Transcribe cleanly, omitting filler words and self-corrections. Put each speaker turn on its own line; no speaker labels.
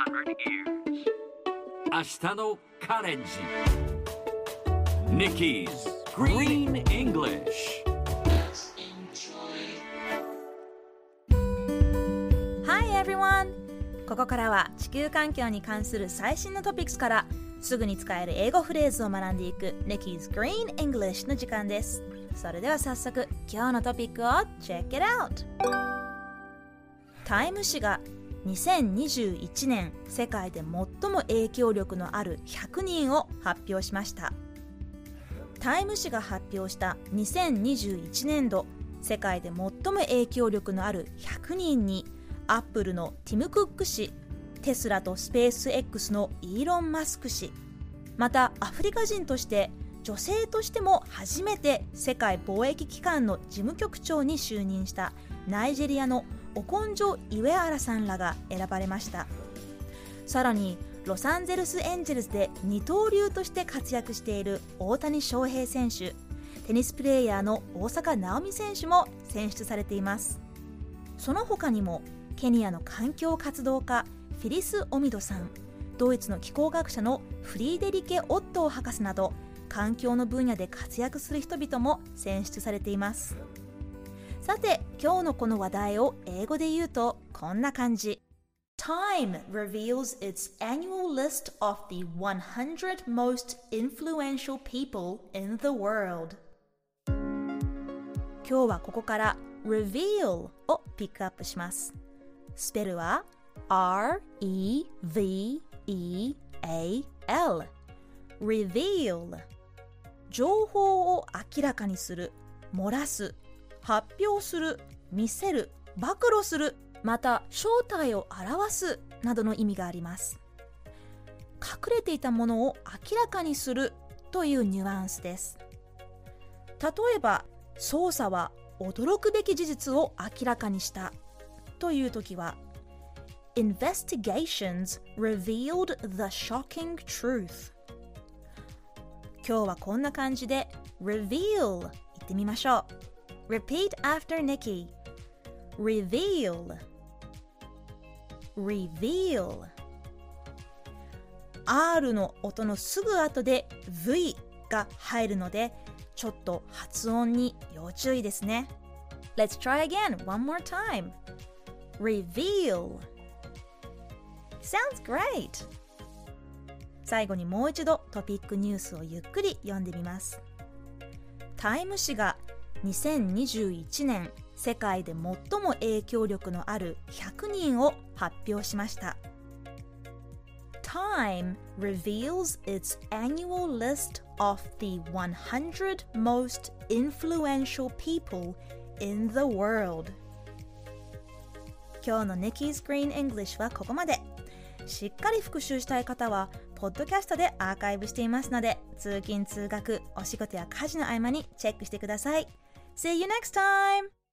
明日のカレンジ Nikki's Green English。
Hi everyone! ここからは地球環境に関する最新のトピックスからすぐに使える英語フレーズを学んでいく Nikki's Green English の時間です。それでは早速今日のトピックを Check it out! タイム誌が2021年世界で最も影響力のある100人を発表しました。タイム誌が発表した2021年度世界で最も影響力のある100人にアップルのティム・クック氏、テスラとスペース X のイーロン・マスク氏、またアフリカ人として女性としても初めて世界貿易機関の事務局長に就任したナイジェリアのオコンジョ・イウェアラさんらが選ばれました。さらにロサンゼルスエンジェルスで二刀流として活躍している大谷翔平選手、テニスプレーヤーの大坂なおみ選手も選出されています。その他にもケニアの環境活動家フィリス・オミドさん、ドイツの気候学者のフリーデリケ・オットー博士など環境の分野で活躍する人々も選出されています。さて今日のこの話題を英語で言うとこんな感じ。 Time reveals its annual list of the 100 most influential people in the world。 今日はここから reveal をピックアップします。スペルは R-E-V-E-A-L reveal、 情報を明らかにする、漏らす、発表する、見せる、暴露する、また正体を表すなどの意味があります。隠れていたものを明らかにするというニュアンスです。例えば捜査は驚くべき事実を明らかにしたというときは Investigations revealed the shocking truth。 今日はこんな感じで reveal 言ってみましょう。 Repeat after Nikki。 Reveal Reveal。 R の音のすぐ後で V が入るのでちょっと発音に要注意ですね。 Let's try again one more time。 Reveal Sounds great。 最後にもう一度トピックニュースをゆっくり読んでみます。タイム誌が2021年世界で最も影響力のある100人を発表しました。 Time reveals its annual list of the 100 most influential people in the world。 今日の Nikki's Green English はここまで。しっかり復習したい方はポッドキャストでアーカイブしていますので、通勤通学、お仕事や家事の合間にチェックしてください。See you next time!